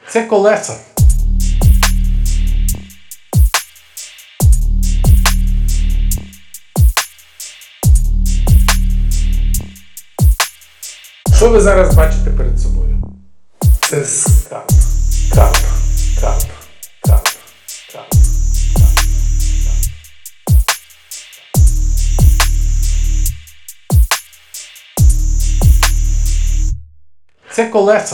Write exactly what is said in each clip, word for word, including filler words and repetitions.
Це колеса. Що ви зараз бачите перед собою? Це скарб. Карп. Карп. Карп. Карп. Це колеса.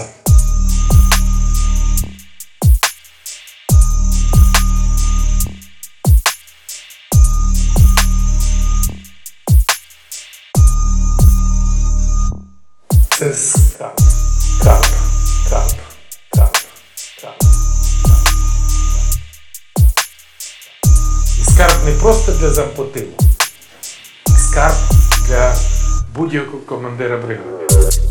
Це скарб. Карп. Карп. Карп. Карп. І скарб не просто для зампотилу. Скарб для будь-якого командира бригади.